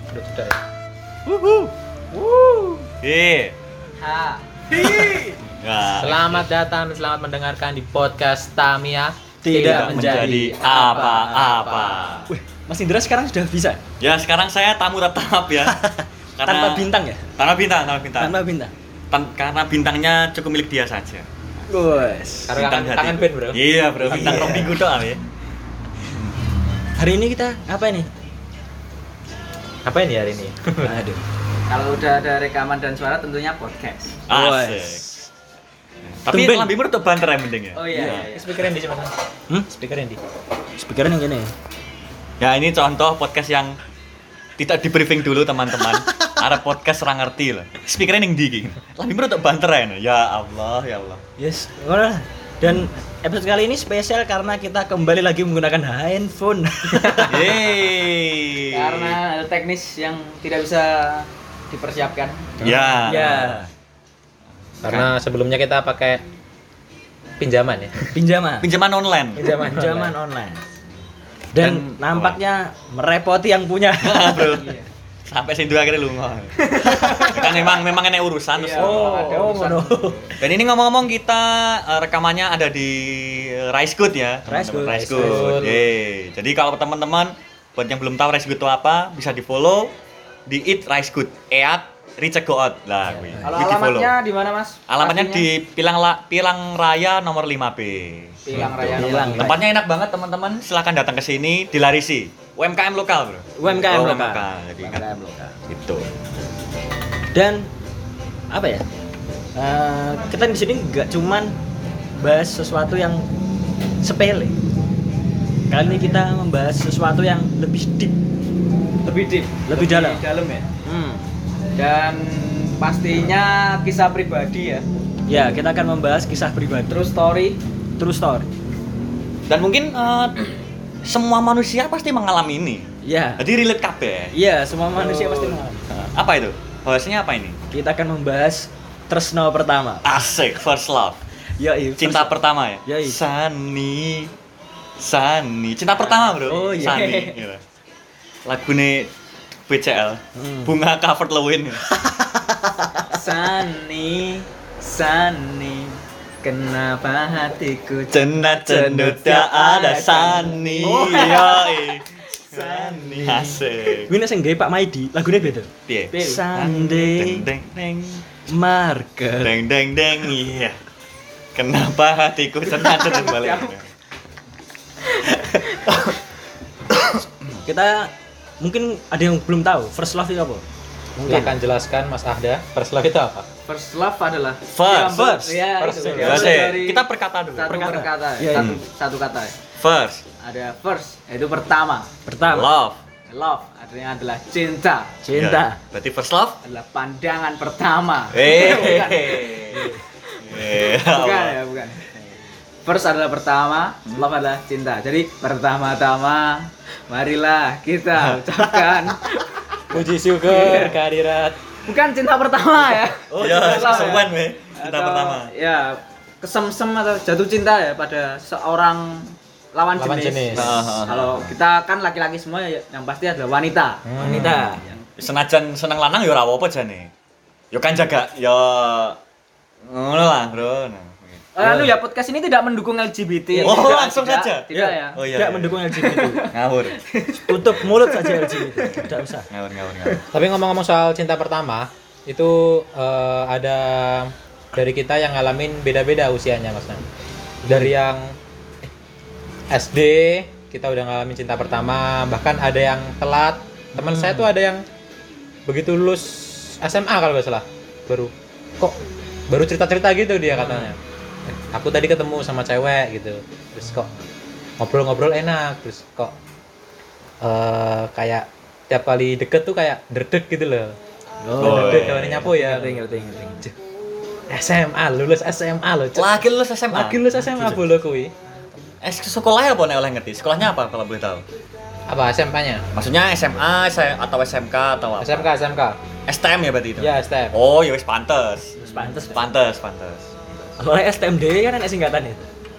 Udah tidak ya? Ha. Selamat datang dan selamat mendengarkan di podcast Tamiya Tidak menjadi apa-apa. Wih, Mas Indra sekarang sudah bisa? Ya sekarang saya tamu tetap ya. Tanpa bintang ya? Tanpa bintang. Tanpa bintang. Karena bintangnya cukup milik dia saja. Guys. Karena Bintang tangan hati. band bro. Iya bro, bintang Iya. rong minggu doang ya. Hari ini kita apa ini? Apa ini hari ini? Aduh. Kalau udah ada rekaman dan suara tentunya podcast. Asik. Tapi Tumben. lebih menurut banter ya mending ya. Oh iya. Speaker yang di mana? Speaker yang di. Speaker yang gini. Ya ini contoh podcast yang tidak di briefing dulu teman-teman. Ada podcast orang ngerti lah. Speakernya yang di. Lebih menurut banter ya. Ya Allah. Yes. Ngono lah. Dan episode kali ini spesial karena kita kembali lagi menggunakan handphone. Yeay. Karena ada teknis yang tidak bisa dipersiapkan. Ya. Ya. Karena sebelumnya kita pakai pinjaman ya. Pinjaman online. Pinjaman online. Dan Dan- nampaknya merepoti yang punya. Bro. Sampai situ akhirnya lunga. Kan memang enak urusan terus. Iya. Ada urusan. ngono. Dan ini ngomong-ngomong kita rekamannya ada di Rice Good ya. Rice Good. Rice Good. Yeay. Jadi kalau teman-teman buat yang belum tahu Rice Good itu apa, bisa di-follow di Eat Rice Good. Reach Go Out lah kuwi. Kalau Kuwi di-follow. alamatnya di mana, Mas? Alamatnya Pastinya? di Pilang Raya nomor 5B. Pilang Raya. Pilang. nomor Tempatnya enak banget teman-teman, silakan datang ke sini, dilarisi. UMKM lokal, Bro. UMKM Oh, lokal. Jadi ingat. UMKM lokal. Gitu. Dan apa ya? Kita di sini nggak cuman bahas sesuatu yang sepele. Kali ini kita membahas sesuatu yang lebih deep. Lebih deep, Lebih dalam. Dalam ya. Hmm. Dan pastinya kisah pribadi ya. Ya, kita akan membahas kisah pribadi. True story. True story. Dan mungkin semua manusia pasti mengalami ini. Ya. Jadi relate kabeh. Iya, semua manusia pasti mengalami. Apa itu? Bahasanya apa ini? Kita akan membahas tresno pertama. Asik, first love. Ya, iya. Cinta pertama ya? Yoi. Sani. Cinta pertama, Bro. Oh, iya. Sani. Gitu. Lagune BCL. Bunga covered Lewin. Sani, kenapa hatiku Cenat cenut ya ada Sani. Oh. Yoi. Sani. Asik. Gue sing gawe Pak Maidi, lagune beda. Piye? Sunday Deng deng Market. deng. Iya. Kenapa hatiku cenat cenut balik? Kita mungkin ada yang belum tahu first love itu apa? Silakan jelaskan Mas Ahda. First love itu apa? First love adalah First. Ya, First. itu. First. Dari Kita perkata dulu. satu perkata. Iya, Satu, satu kata. First. Ada first, yaitu pertama. Pertama, Love. Love artinya adalah cinta. cinta. Ya, berarti first love. Adalah pandangan pertama. Bukan. Bukan ya, bukan. First adalah pertama, love adalah cinta. Jadi pertama-tama marilah kita ucapkan Puji syukur kehadirat. bukan cinta pertama ya. Oh ya, Love ya. kesemuan we. Cinta Atau, pertama. Ya, kesem-sem atau jatuh cinta ya pada seorang lawan Lawan jenis. jenis. Kalau kita kan laki-laki semua ya, yang pasti adalah wanita. Wanita. Senajan seneng lanang ya ora apa-apa jane. Ya kan jaga ya ngono lah, Bro. Anu ya, podcast ini tidak mendukung LGBT. Oh, Tidak, langsung tidak, saja? Tidak ya. Oh iya. Tidak iya. mendukung LGBT. Ngawur. Tutup mulut saja LGBT. Tidak usah. Ngawur. Tapi ngomong-ngomong soal cinta pertama, itu ada dari kita yang ngalamin beda-beda usianya Mas. Dari yang SD kita udah ngalamin cinta pertama, bahkan ada yang telat. Teman saya tuh ada yang begitu lulus SMA kalau nggak salah, baru cerita-cerita gitu dia katanya. Aku tadi ketemu sama cewek gitu, terus kok ngobrol-ngobrol enak, terus kok kayak tiap kali deket tuh kayak derdek gitu loh. Derdek kalau nyapu ya. Ngerti. SMA, lulus SMA loh. Cuk. Lagi lulus SMA. Lagi lulus SMA bolo kuwi. Sekolahnya apa nek oleh ngerti? Sekolahnya apa kalau boleh tahu? Apa SMP-nya? Maksudnya SMA atau SMK atau apa? SMK. STM ya berarti itu? Ya, STM. Oh, ya wis pantes. Pantes. Pantes. Kalau STMD kan ada singkatan itu.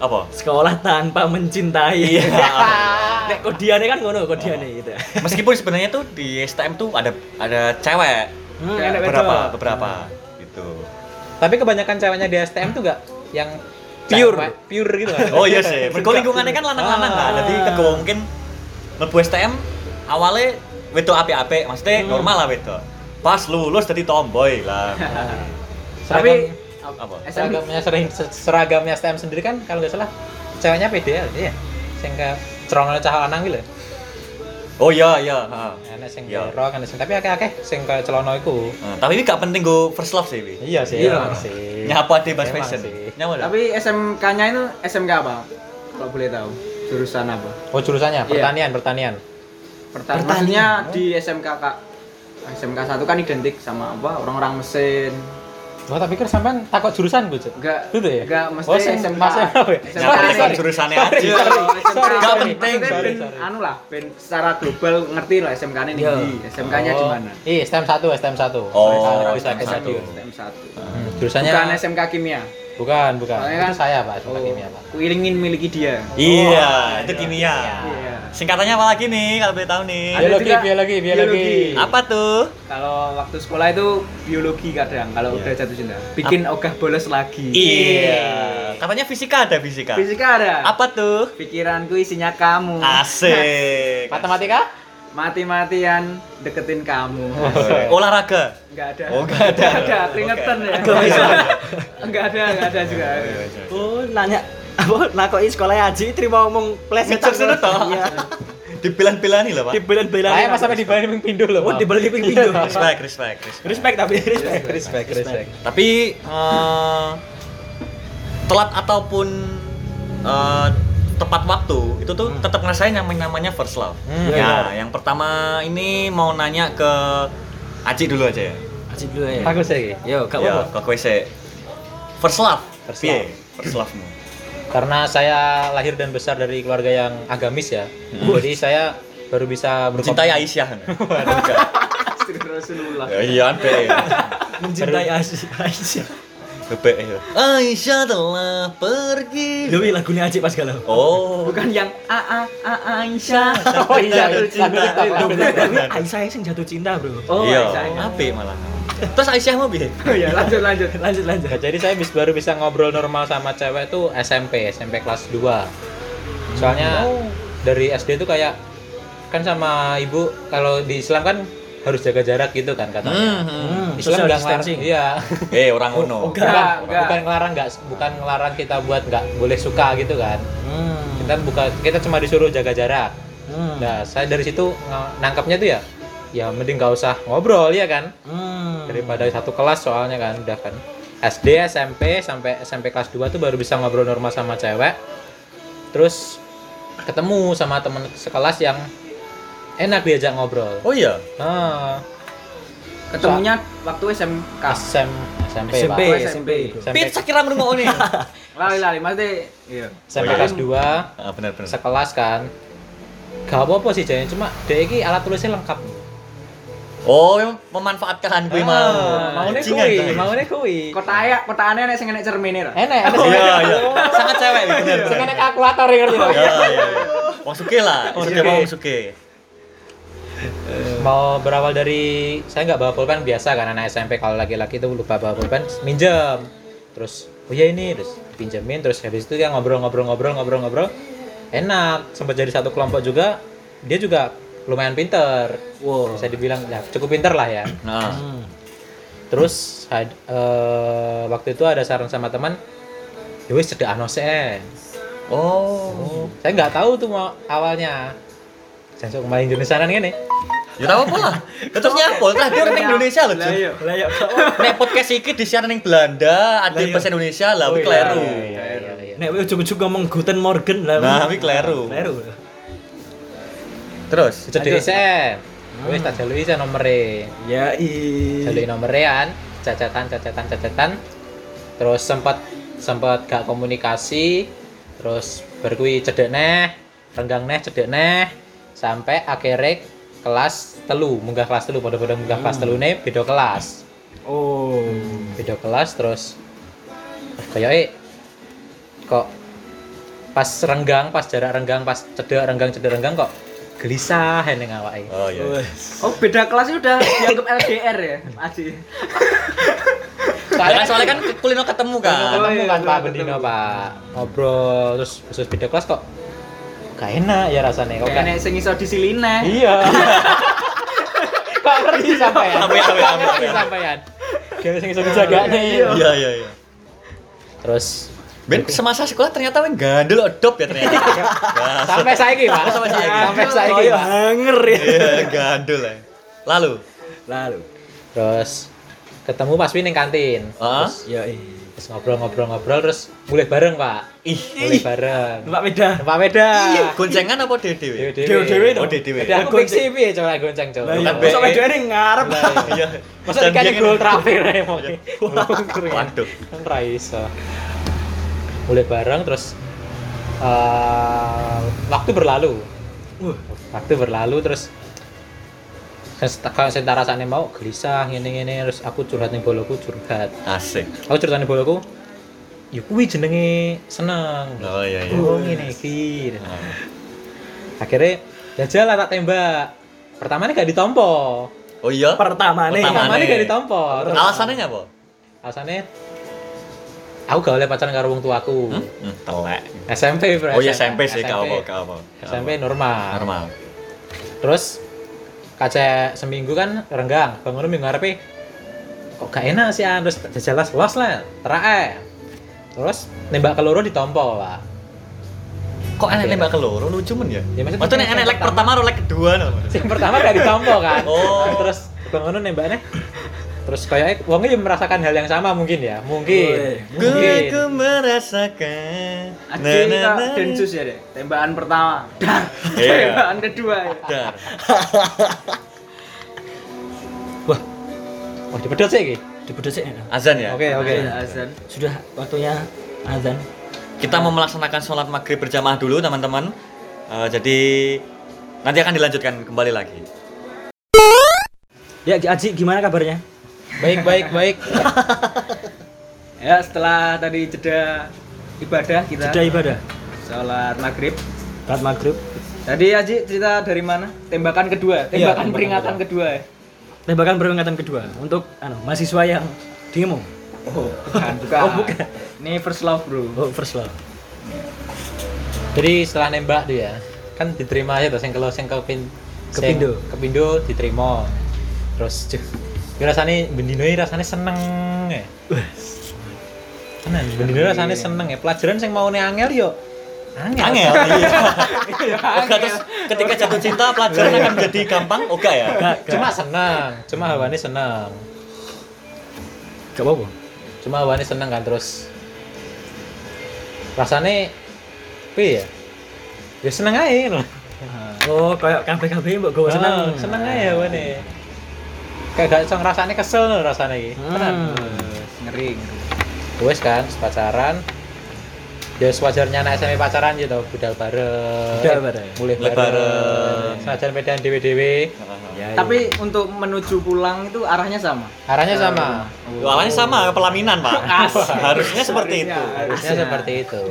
Apa? Sekolah tanpa mencintai. Iya. Nek kodiane kan ngono kodiane gitu. Meskipun sebenarnya tuh di STM tuh ada cewek. Enak Beberapa gitu. Tapi kebanyakan ceweknya di STM tuh enggak yang pure gitu kan. Oh iya sih. Mergo lingkungannya kan lanang-lanang kan. Jadi kegowo mungkin mlebu STM awalnya wedok apik-apik, maksudnya normal lah wedok. Pas lulus jadi tomboy lah. Tapi Apa? Seragamnya STM sendiri kan kalau nggak salah ceweknya PDL ya. Sing ke cerongan cah lanang gitu. Oh iya, heeh. Enak sing Iya. berok, enak sing tapi akeh-akeh sing ke celana iku. Tapi ini gak penting go first love sih, Wi. Iya sih, Iya. emang sih. Nyapa di Bas Emang Fashion. sih. Nyawa dah. tapi SMK-nya itu SMK apa? Kalau boleh tahu. Jurusan apa? Oh, jurusannya Iya. pertanian. Maksudnya di SMK Kak. SMK 1 kan identik sama apa? Orang-orang mesin. Wah, tak pikir sampean takut jurusan gue, Cuk. Enggak. Gitu ya? Enggak, mesti Oh, sing SMK. Mas apa ya? SMK Nyapa ini. kan jurusannya Sorry, aja. sorry. SMK Nggak penting. Sorry. Anu lah, ben secara global ngerti lah SMK ini Iya. di SMK-nya di mana? Iya, STM 1. Oh, bisa ke STM stadion. STM 1. Jurusannya Bukan SMK Kimia. Bukan. Soalnya Itu kan- saya, Pak, SMK kimia, Pak. Ku ingin miliki dia. Iya, itu kimia. Iya. Singkatannya apa lagi nih kalau boleh tahu nih? Ada juga Biologi. biologi. Apa tuh? Kalau waktu sekolah itu biologi kadang kalau Iya. udah jatuh cinta. Bikin ogah bolos lagi. Iya. Katanya fisika ada fisika. Fisika ada. Apa tuh? Pikiranku isinya kamu. Asik. Matematika? Mati-matian deketin kamu. Olahraga. Enggak ada. Oh, nggak ada. Nggak ada, keringetan ya. Enggak ada juga. Oh, nanya apa nakoki sekolah Aji terima omong plesetan. Ngecek sana toh. Iya. Dibelan-belani lah, Pak. Dibelan-belan. Saya mas sampai dibalik pindu loh. Oh, dibalik pintu. Respect. Respect tapi respect. Tapi telat ataupun tepat waktu itu tuh tetap ngerasain yang namanya first love. Iya, Ya, yang pertama ini mau nanya ke Aci dulu aja ya. Aji dulu ya. Aku sih. Yo, gak Ya, apa-apa. ke kowe sih. First love. First Piye? love. First love-mu. Karena saya lahir dan besar dari keluarga yang agamis ya. Jadi saya baru bisa Mencintai Aisyah. Rasulullah. Ya iya, Be. Mencintai Aisyah. Bebek ya. Aisyah telah pergi. Lho lagunya Aji pas galau. Oh. Bukan yang Aisyah. Oh iya, Jatuh cinta. Tapi Aisyah sing jatuh cinta, Bro. Oh, Iya, Aisyah. apik malah. Terus Aisyah mau piye? Oh ya, lanjut. Lanjut. Nah, jadi saya baru bisa ngobrol normal sama cewek tuh SMP kelas 2. Soalnya dari SD tuh kayak kan sama ibu kalau di Islam kan harus jaga jarak gitu kan katanya. Islam Social nggak ngelarang, distancing. iya. Orang ngono. Enggak. bukan ngelarang kita buat nggak boleh suka gitu kan. Kita cuma disuruh jaga jarak. Nah, saya dari situ nangkapnya tuh ya mending nggak usah ngobrol ya kan. Daripada satu kelas soalnya kan udah kan SD, SMP sampai SMP kelas 2 tuh baru bisa ngobrol normal sama cewek. Terus ketemu sama teman sekelas yang enak diajak ngobrol. Oh iya. Ketemunya waktu SMK. SMP, SMP. Pak. SMP. Pit sakira ngrungokne. Lali, maksudnya iya. SMP Oh, iya. kelas 2 Bener. sekelas kan. Gak apa-apa sih jadinya cuma dia iki alat tulisnya lengkap. Oh, memanfaatkan kuwi mau. Maune kuwi. Kotaane nek sing enek cermine ra. Enak. Iya. Sangat cewek bener. Sing enak kalkulator ya ngerti. Iya. Wong sugih lah, wong sugih. Mau berawal dari saya nggak bawa pulpen biasa kan anak SMP kalau laki-laki itu lupa bawa pulpen minjem terus oh ya ini terus pinjemin terus habis itu ya ngobrol enak sempat jadi satu kelompok juga dia juga lumayan pinter bisa dibilang ya cukup pinter lah ya Nah, terus waktu itu ada saran sama teman ya wis cedek anose saya nggak tahu tuh mau awalnya saya main Indonesiaan gini. ya tau apa lah. Terus nyapol lah dia orang Indonesia loh. Lah iya. Lah ya Nek podcast iki disiaran ning Belanda, ada bahasa Indonesia lah, kuwi kleru. Iya. nek ujug-ujug ngomong Guten Morgen lah. Nah, kuwi kleru. Terus Cedek sen. Wis tak jaluki sen nomere. Ya Jaluki nomerean, cacetan. Terus sempat gak komunikasi. Terus berkuwi cedek neh, renggang neh, cedek neh sampai akhirnya kelas telu, munggah kelas telu, pada munggah kelas telu nih beda kelas. Beda kelas terus kayaknya kok pas renggang, pas jarak renggang, pas cedek renggang kok gelisah ning awake. Oh iya. Oh, beda kelas itu udah dianggap LDR ya, Aji. Soalnya kan kulino ketemu kan. Ketemu iya, kan Pak ketemu. Bendino Pak. Ngobrol terus khusus beda kelas kok gak enak ya rasanya kok Kayak nek sing iso disiline. Iya. Kok ngerti sampean? Apa. Ngerti sampean. Gak sing iso dijagane. Iya. Terus Ben semasa sekolah ternyata weng gandel odop ya ternyata. sampai saiki Pak. Sampai saiki. Sampai saiki Pak. hanger ya. Iya, gandul ya. Lalu, Terus ketemu pas ning kantin. ah, Ya Terus ngobrol terus mulai bareng Pak. Mulai bareng. Numpak beda. Numpak beda. goncengan apa dewe? Dewe-dewe Oh, dong. dewe. Jadi aku fiksi piye coba gonceng coba. Lah iya, Bukan masa BE. wedane ngarep. Iya. Masa dikasih gol terakhir ae mau. Waduh. Kan ra iso. Mulai bareng terus waktu berlalu. Waktu berlalu terus kalau saya rasanya mau gelisah ngene terus aku curhat ning boloku curhat. Asik. Aku curhat ning boloku. Ya kuwi jenenge seneng. Oh iya. Oh ngene iki. Ah. Akhirnya jajal lah tak tembak. Pertamanya gak ditompo. Oh iya. Pertamane. Pertamanya gak ditompo. Terus Alasannya apa? alasannya aku gak oleh pacaran karo wong tuaku. Telek. SMP bro. Oh iya SMP sih kau apa. SMP normal. Normal. Terus kaca seminggu kan renggang. Bangun minggu ngarepe kok gak enak sih terus jajalas los lah. Terae. Terus nembak keloro ditompo, Pak. Kok enek nembak keloro lucu men ya? Ya, maksudnya Maksudnya enek leg pertama atau leg kedua no? Yang pertama gak ditompo kan. Oh. Terus bangun nembaknya terus kayaknya wongnya merasakan hal yang sama mungkin ya. Mungkin. Ku merasakan. Aji kita densus ya deh. Tembakan pertama. Dar. Iya. Tembakan kedua ya. Dar. Wah, dipedot sih iki. Dipedot sih. Azan ya? Oke. Azan. Sudah waktunya azan. Kita mau melaksanakan sholat maghrib berjamaah dulu teman-teman. Jadi nanti akan dilanjutkan kembali lagi. Ya Aji gimana kabarnya? Baik. Ya, setelah tadi jeda ibadah kita. Sudah ibadah. Sholat maghrib. Saat maghrib. Tadi Aji cerita dari mana? Tembakan kedua. Tembakan Iya, tembakan peringatan kedua ya. Tembakan peringatan kedua untuk mahasiswa yang demo. Oh, bukan. Oh, bukan. Ini first love, Bro. Oh, first love. Jadi setelah nembak tuh ya, kan diterima aja tuh sing kepindo diterima. Terus ya rasanya bendino ini rasanya seneng ya. Tenan, bendino rasanya seneng ya. Pelajaran sing mau angel yo angel. Iya. Oke, terus ketika jatuh cinta pelajaran akan menjadi gampang? Oke ya? Cuma seneng, cuma hawane seneng. Gak apa-apa. Cuma hawane seneng kan terus rasanya piye ya? Ya seneng aja loh. Oh, kayak kabeh-kabeh mbok gowo seneng. Seneng aja hawane. Kayak gak iso ngrasane kesel loh rasanya iki. Tenan. Ngeri. Wes kan pacaran. Ya sewajarnya anak SMP pacaran gitu, budal bareng. Mulai Mulai bareng. bareng. Senajan medan dewe-dewe. Ya, Tapi untuk menuju pulang itu arahnya sama. Arahnya sama. Awalnya sama pelaminan pak. Harusnya seperti itu. Harusnya seperti itu.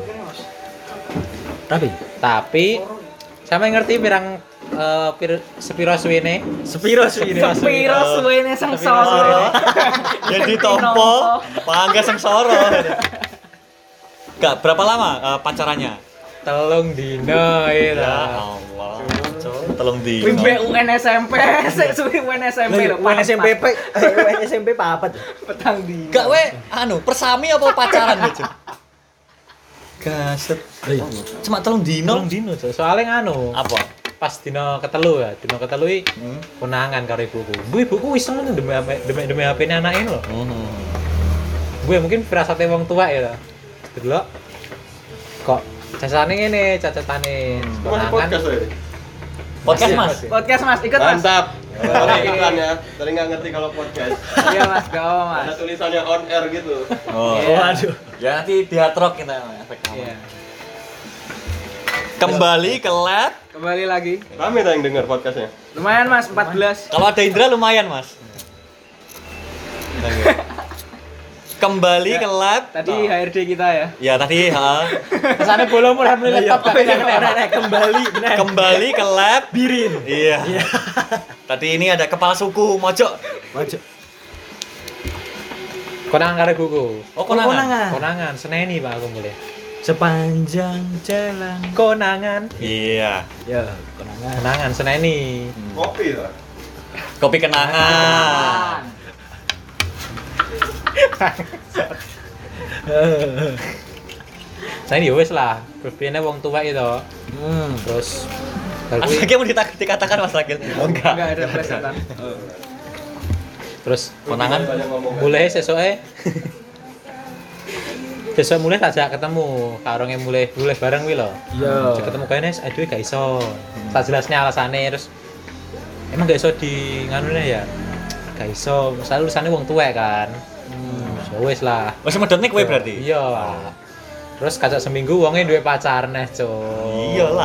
tapi Sama ngerti pirang sepiro suwene. sepiro sih ini. Sepiro suwene sengsara. Jadi tompo, pangga sengsara. Gak berapa lama pacarannya? Telung dino Ya itu. Allah. Telung di. Wimbe UN SMP, sik suwi UN SMP lho. UN SMP papat. petang di. Gak we, persami apa pacaran gitu? Gaset. Cuma telung dino. Telung dino. Soalnya nganu. Apa? Pas dino ketelu ya, dino ketelu iki konangan karo ibuku. Ibuku iseng demi HP-ne anake lho. Gue mungkin firasate wong tua ya. Delok kok cacatane ngene, cacatane konangan. Podcast mas. Podcast Mas, ikut Mas. Mantap. Ada iklan ya. Tadi nggak ngerti kalau podcast. Iya Mas, gak apa Mas. Ada tulisannya on air gitu. Oh. Waduh. Ya nanti di hard rock kita efek Iya. Kembali ke lab. Kembali lagi. Rame tak yang denger podcastnya? Lumayan Mas, 14. Kalau ada Indra lumayan mas. Kembali ke lab. Tadi HRD kita ya. Ya tadi Kesana bolong mulai laptop gak kena. kembali ke lab Birin. Iya. Tadi ini ada kepala suku Mojok. Konangan karo gugu. Oh, konangan. Konangan, seneni Pak aku mulai. Sepanjang jalan. Konangan. Iya. Ya, konangan. Konangan seneni. Kopi lah. Kopi kenangan. Saya ya wis lah, berpikirnya wong tua itu. Terus baru kuwi- Aslinya mau dikatakan Mas Rakil. Oh enggak. Enggak ada plesetan. terus Konangan. Banyak ngomong. mulai sesuai besok mulai tajak ketemu karongnya mulai bareng wi loh. Iya. Ajak ketemu kayaknya aduh gak iso. Tak jelasnya alasannya terus emang gak iso di nganune ya. Gak iso, misalnya urusannya wong tua kan. So wis lah. Wes medhotne kowe berarti. Iya. Terus kacak seminggu wongnya duwe pacar neh, Cuk. Iyalah.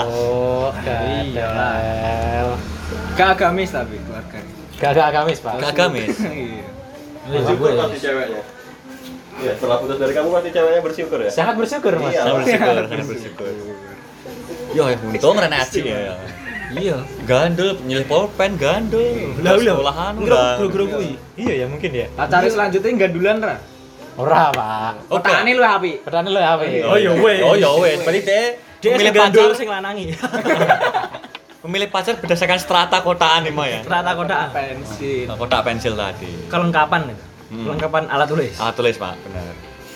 Gadel. Gak agamis tapi keluarga. Gak ada agamis, Pak. Gak agamis. Iya. Bersyukur pasti ceweknya. Iya, setelah putus dari kamu pasti ceweknya bersyukur ya. Sangat bersyukur, Mas. Iya. Sangat bersyukur. Yo, untung rene aji ya. Iya. Gandul, nyilih pulpen gandul. Lah, sekolahan Gro-gro kuwi. Iya ya mungkin ya. Pacarnya selanjutnya gandulan ra? Ora, Pak. Oke. Petane lu api. Pertanyaan lo apa ya? Oh, ya wes. Oh ya wes, berarti Dia pemilih sing gandul pacar sing lanangi. pemilih pacar berdasarkan strata kotaan nih Mo ya. Strata kotaan. Pensi. Kotak pensil tadi. Kelengkapan itu. Kelengkapan alat tulis. Alat tulis, Pak, benar.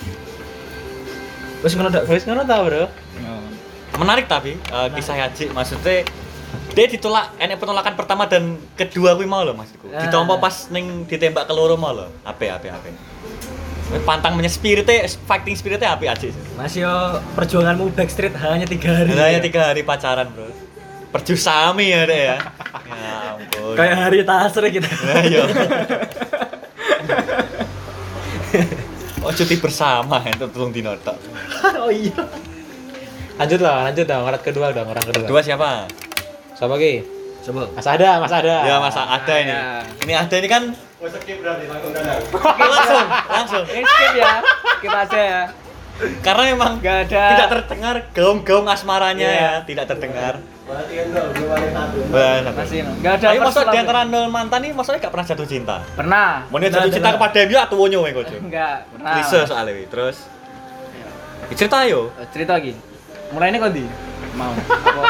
Wis ngono dak. Wis ngono ta, Bro? Menarik tapi kisah Haji maksudnya dia ditolak enek penolakan pertama dan kedua kuwi mau lho maksudku. Ditompo pas ning ditembak keloro mau lho. Ape. Pantang punya spiritnya, fighting spiritnya api aja. Mas yo perjuanganmu backstreet hanya 3 hari. Hanya 3 hari pacaran, Bro. Perjusami ya, Dek ya. Ya ampun. Kayak hari tasre kita. Nah, iya. Oh, cuti bersama itu tolong dinotok. Oh iya. Lanjut dong. Orang kedua. Kedua siapa? Siapa ki? Coba. Mas ada. Ya, Mas ada ini. Ya. Ini ada ini kan Oh, skip berarti langsung danang. langsung. Ini skip ya. Skip aja ya. Karena memang Gak ada. tidak terdengar gaung-gaung asmaranya ya, tidak terdengar. Berarti kan belum ada satu. Masih enggak ada. Tapi first maksud love di ya? antara nol mantan ini maksudnya gak pernah jatuh cinta. Pernah. Mau dia jatuh cinta kepada dia atau wonyo weh koco. Enggak, pernah. Klise soalnya weh. Terus cerita yo. Cerita lagi. Mulai ini kok di? Mau. Apa?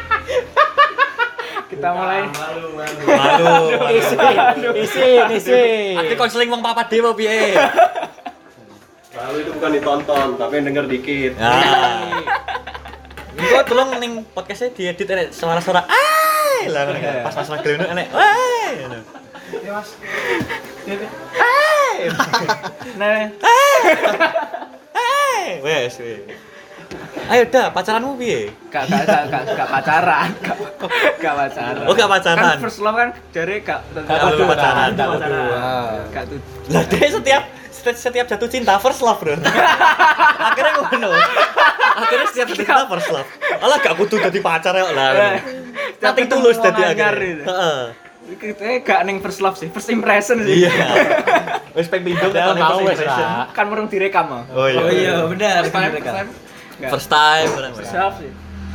Kita mulai. Malu. Isi. Tapi konseling wong papa dewa piye? Lalu itu bukan ditonton, tapi yang denger dikit. Nah. Iku tolong ning podcastnya diedit enek suara-suara ai lah pas masalah geleno enek ai. Nah, Wes. Ayo dah, pacaranmu piye? gak pacaran. Gak pacaran. Oh, gak pacaran. Kan first love kan dari gak Belum pacaran. Gak tuh. Lah dia setiap jatuh cinta first love, Bro. Akhirnya ngono. Akhirnya setiap jatuh cinta first love. Alah gak kudu dadi pacar ya lah. Nanti tulus dadi akhirnya. Heeh. Kita gak neng first love sih, first impression sih. Iya. Wis ping pindho Udah ketone mau first wis impression. lah. Kan murung direkam ah. Oh iya. Oh iya, benar. First time, first time. Nggak. First time orang. First love sih.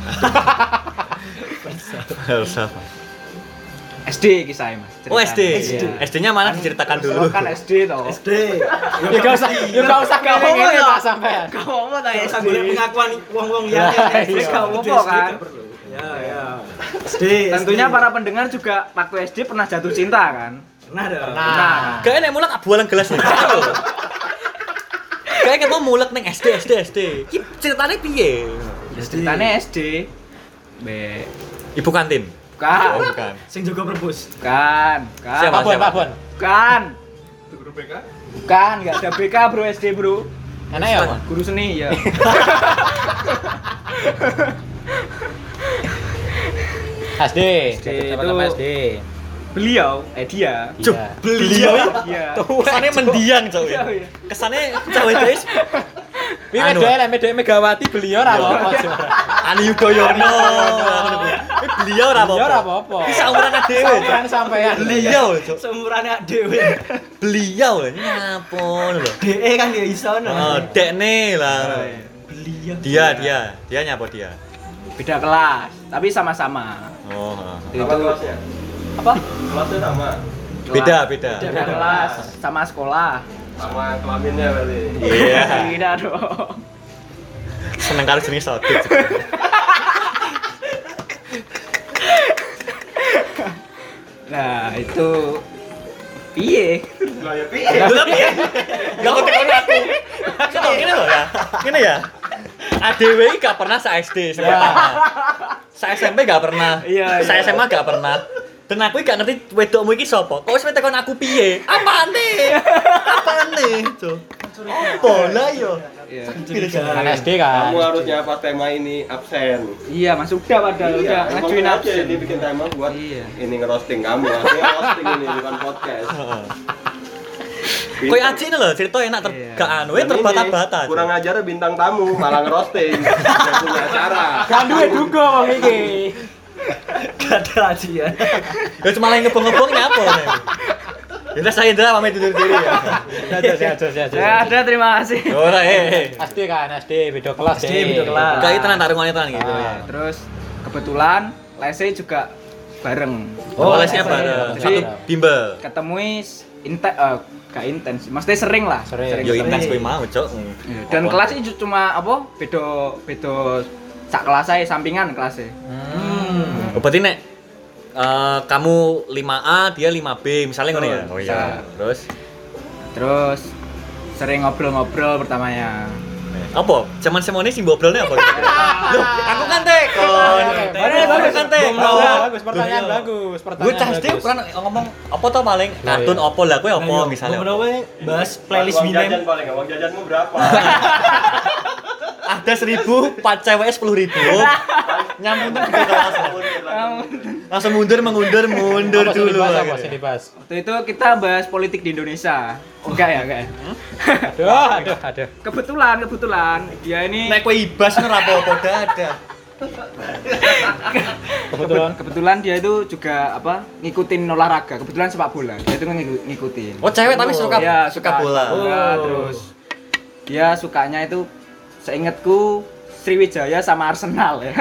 First love. SD kisahnya mas. Oh SD. SD-nya mana diceritakan dulu. Kan SD toh. SD. Ya gak usah ngomong Pak sampean. Kau ngomong tanya Saya SD. boleh pengakuan wong-wong Ya, yang iya. Gak apa-apa kan. Ya. SD. Tentunya para pendengar juga waktu SD pernah jatuh cinta kan. Pernah dong. Nah. Kayak nek mulak abualan gelas nih. Kayak mau mulak neng SD. Ki ceritanya piye? Ceritanya SD. B. Ibu kantin. Bukan. Oh, bukan. Sing jaga perbus. Bukan. Siapa? Pak Bon. Bukan. Bukan, enggak ada BK bro SD bro. Enak ya, Pak? Guru seni ya. SD. itu- Sama SD. Beliau, dia. Cuk, Iya. beliau Iya. kesannya mendiang cowok. Iya, iya. Kesannya cowok itu Ini Anu. Megawati beliau ra apa-apa. Ani Yudhoyono. Beliau ora apa-apa. Beliau ora apa-apa. Iki sauran dhewe. Sampean sampean. Beliau, Cuk. Seumurannya dhewe. Beliau nyapon lho. DE kan ya iso Oh, dekne lah. Beliau. Dia nyapa dia. Beda kelas, tapi sama-sama. Oh. Itu Apa kelasnya? apa? Kelasnya sama. Beda. Beda kelas, sama sekolah. Sama kelaminnya berarti. Iya. Tidak dong. Seneng karo jenenge Sodik. Nah, itu piye? Lah ya piye? Gak kok tekan aku. Kok ngene lho ya. Ngene ya. ADW gak pernah sa SD sebenarnya. Sa SMP gak pernah. Iya, Sa iya. SMA gak pernah. Dan aku gak ngerti wedokmu iki sapa. Kok wis tekan aku piye? Apane? Cuk. Apa lah yo? Iya. Kan SD kan. Kamu harusnya pas tema ini absen. Iya, Mas udah padahal udah emang ngajuin aja absen. dia bikin tema buat Iya. ini ngerosting kamu. Artinya roasting ini bukan podcast. Kowe aji ini lho, cerita enak Iya. gak anu, Dan terbata-bata. ini kurang ajar bintang tamu malah ngerosting. Gak punya acara. Kan duwe duga wong iki. Gak ada aja. Ya cuma lagi ngebong-ngebong nyapa nih. Ya saya Indra pamit undur diri ya. Ya ada, terima kasih. Ora SD kan, SD beda kelas. SD beda kelas. Kayak tenan tarungannya tenan gitu. Ah. Terus kebetulan lesnya juga bareng. Oh, lesnya lesnya bareng. Jadi Satu bimbel. ketemu gak intens, maksudnya sering lah. Sering. Yo intens kowe mau, Cok. Iya, dan kelas itu cuma apa? Beda sak kelas aja, sampingan kelasnya. Oh, berarti nek kamu 5A, dia 5B, misalnya ngono ya. Betul. Oh iya. Terus sering ngobrol-ngobrol pertamanya. Apa? Zaman semone sing ngobrolnya apa? Loh, aku kan tekon. Aku kan tekon. Bagus, pertanyaan bagus. Gue cah SD pernah ngomong apa tuh paling kartun apa lah kowe apa misalnya. Ngobrol bahas playlist Uang jajan Binem. paling, uang jajanmu berapa? Ada 1000, 4 cewek 10.000. Nyambung ke kelas. Langsung mundur mundur dulu. Apa sih dibahas? Waktu itu kita bahas politik di Indonesia. Enggak ya. Aduh. Kebetulan dia ini Nek kowe ibas ora apa-apa ada. kebetulan dia itu juga apa? Ngikutin olahraga. Kebetulan sepak bola. Dia itu ngikutin. Oh, cewek tapi suka Iya, suka bola. Terus dia sukanya itu seingatku Sriwijaya sama Arsenal ya.